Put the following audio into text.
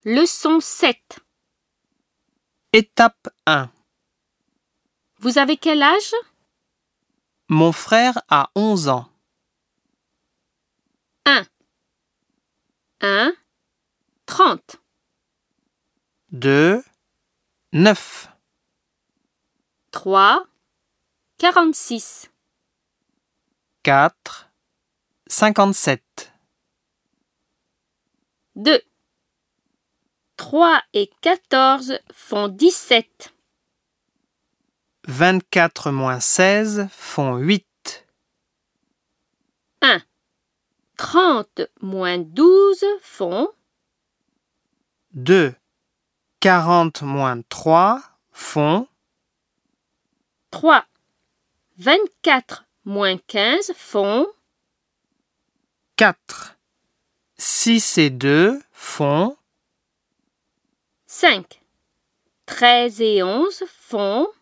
Leçon 7. Étape 1. Vous avez quel âge? Mon frère a 11 ans. 1. 30. 2. 9. 3. 46. 4. 57. 2. 3 et 14 font 17. 24 moins 16 font 8. 1. 30 moins 12 font 2. 40 moins 3 font 3. 24 moins 15 font 4. 6 et 2 font 5. 13 et 11 font